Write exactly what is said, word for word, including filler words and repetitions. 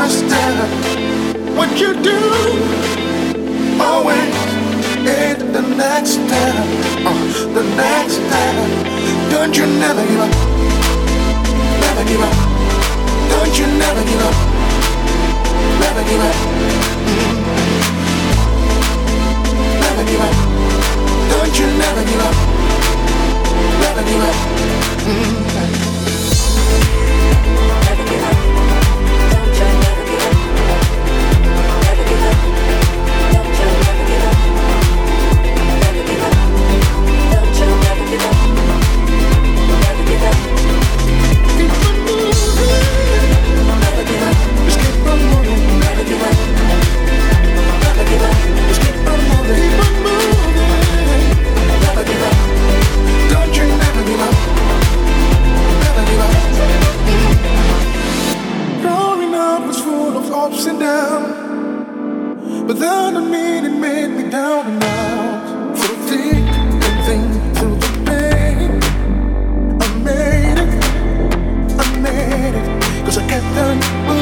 master. What you do, always is the next step. Uh, the next step. Don't you never give up. Never give up. Don't you never give up. Never give up. Mm. Never give up. Don't you never give up. Never give up. Mm. Never give up. Don't you never give up. Never give up. Don't you never give up. Never give up. Don't you never give up. Never give up. Keep on moving. Never give up. Just keep on moving. Never give up. Never give up. Just keep on moving. Keep on moving. Never give up. Don't you never give up. Never give up. Growing up was full of ups and downs, but then I mean it made me down and out. Through thick and thin, through the pain, I made it, I made it, 'cause I kept on moving.